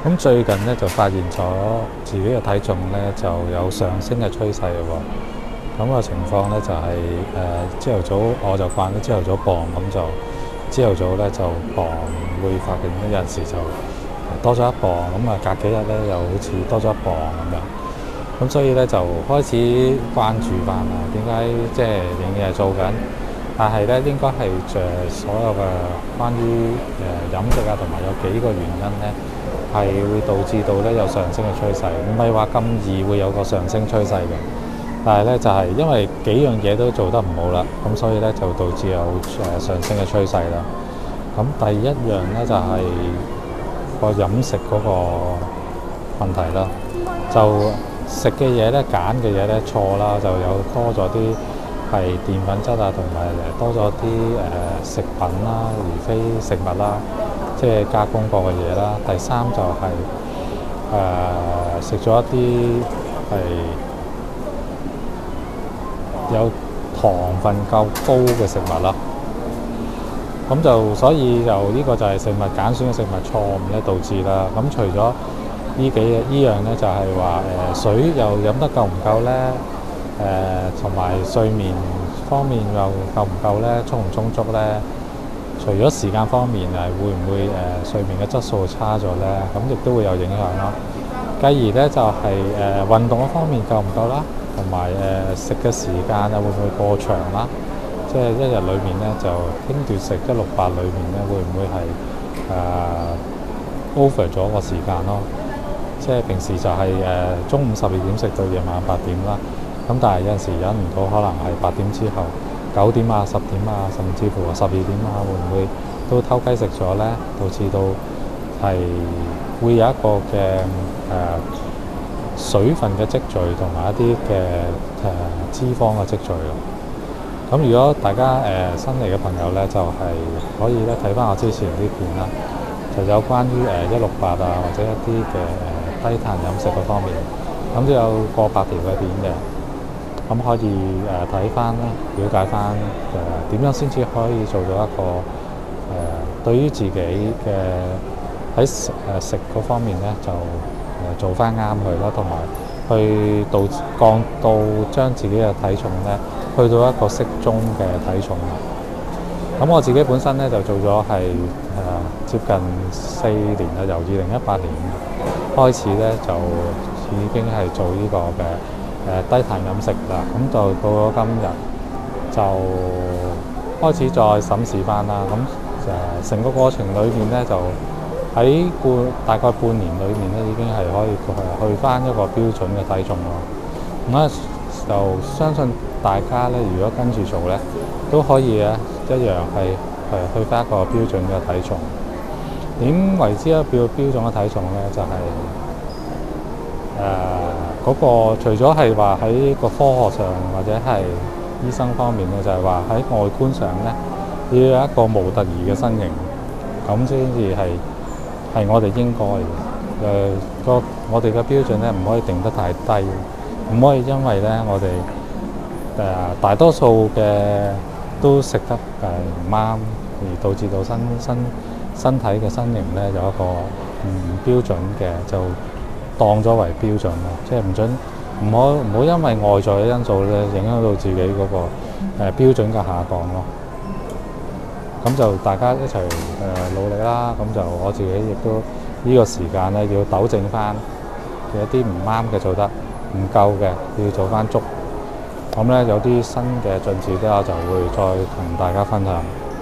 咁最近咧就發現咗自己嘅體重咧就有上升嘅趨勢嘅喎。咁個情況咧就係朝頭早我就慣咗朝頭早磅，咁就朝頭早咧就磅會發現有陣時就多咗一磅，咁啊隔幾日咧又好似多咗一磅咁樣。咁所以咧就開始關注翻啦，點解即係仍然係做緊，但係咧應該係所有嘅關於飲食啊，同埋有幾個原因咧，係會導致到咧有上升嘅趨勢，唔係話咁易會有個上升趨勢嘅。但係咧就係因為幾樣嘢都做得唔好啦，咁所以咧就導致有上升嘅趨勢啦。咁第一樣咧就係個飲食嗰個問題啦，就食嘅嘢咧，揀嘅嘢咧錯啦，就有多咗啲係澱粉質啊，同埋多咗啲食品啦，而非食物啦，即係加工過嘅嘢啦。第三就係食咗一啲係有糖分夠高嘅食物啦。咁就所以就呢個就係食物揀選嘅食物錯誤咧導致啦。咁除咗呢樣咧，就係話水又飲得夠唔夠咧？同埋睡眠方面又夠唔夠咧？充唔充足咧？除咗時間方面會唔會睡眠嘅質素差咗咧？咁亦都會有影響啦。繼而咧就係運動嘅方面夠唔夠啦？同埋食嘅時間會唔會過長啦？即係一日裏面咧就輕斷食168裏面咧，會唔會係over 咗個時間咯？即係平時就係中午12點食到夜晚8點啦，咁但係有陣時忍唔到，可能係8點之後9點啊、10點啊，甚至乎12點啊，會唔會都偷雞食咗咧？導致到係會有一個嘅水分嘅積聚，同埋一啲嘅脂肪嘅積聚咯。咁如果大家新嚟嘅朋友咧，就係可以咧睇翻我之前啲片啦，就有關於168啊，或者一啲嘅低碳飲食嗰方面，咁都有過百條嘅片嘅，咁可以睇翻啦，了解翻點樣先至可以做到一個對於自己嘅喺食嗰方面咧，就做翻啱佢啦，同埋去降到將自己嘅體重咧去到一個適中嘅體重。咁我自己本身咧就做咗係接近4年啦，由2018年開始咧就已經係做呢個嘅低碳飲食啦。咁就到咗今日就開始再審視翻啦。咁成個過程裏面咧，就喺大概半年裏面咧，已經係可以去翻一個標準嘅體重咯。咁咧就相信大家咧，如果跟住做咧，都可以一樣係去翻一個標準嘅體重。點為之一個標準嘅體重咧？就係嗰個除咗係話喺個科學上或者係醫生方面咧，就係話喺外觀上咧，要有一個模特兒嘅身形，咁先至係我哋應該嘅。我哋嘅標準咧，唔可以定得太低，唔可以因為咧我哋大多數嘅都食得唔啱，而導致到身體嘅身形咧有一個唔標準嘅，就當咗為標準咯。即係唔好因為外在嘅因素咧，影響到自己嗰個標準嘅下降咯。咁就大家一齊努力啦。咁就我自己亦都呢個時間咧要糾正翻有啲唔啱嘅做得唔夠嘅，要做翻足。咁咧有啲新嘅進展咧，我就會再同大家分享。